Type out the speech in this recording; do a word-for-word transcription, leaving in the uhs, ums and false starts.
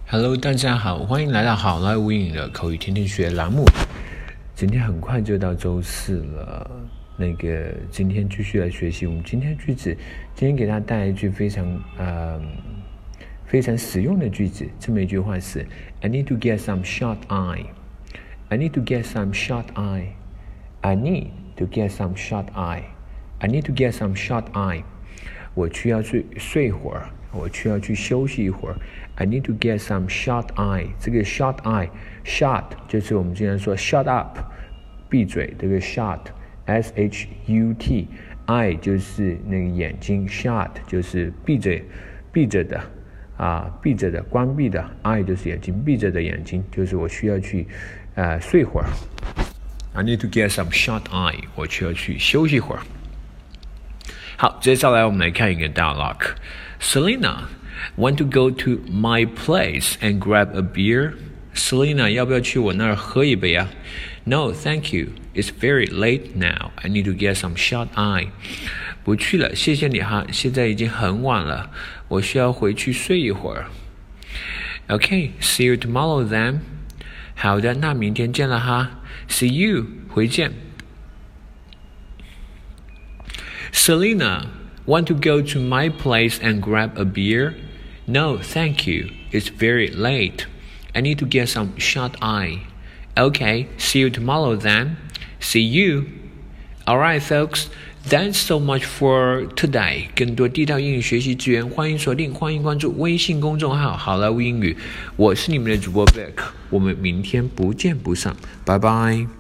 Hello， 大家好，欢迎来到好莱坞英语的口语天天学栏目。今天很快就到周四了，那个今天继续来学习我们今天的句子。今天给大家带来一句非常呃非常实用的句子，这么一句话是 I need to get some shut eye. I need to get some shut eye. I need to get some shut eye. I need to get some shut eye. 我需要去睡会儿，我需要去休息一会儿。I need to get some shut eye. 这个 shut eye, shut 就是我们经常说 shut up, 闭嘴，这个 shut, S H U T, eye 就是那个眼睛 shut 就是闭着闭着的啊，闭着的关闭的 eye 就是眼睛，闭着的眼睛就是我需要去呃睡会儿。I need to get some shut eye. 我需要去休息会儿。好，接下来我们来看一个 dialogue. Selena, want to go to my place and grab a beer? Selena, 要不要去我那儿喝一杯啊？ No, thank you. It's very late now. I need to get some shut eye. 不去了，谢谢你哈，现在已经很晚了，我需要回去睡一会儿。Okay, see you tomorrow then. 好的，那明天见了哈。See you, 回见。Selena, want to go to my place and grab a beer? No, thank you. It's very late. I need to get some shut eye. Okay, see you tomorrow then. See you. Alright, folks, that's so much for today. 更多地道英语学习资源，欢迎锁定，欢迎关注微信公众号好莱坞英语。我是你们的主播 Beck， 我们明天不见不散，拜拜。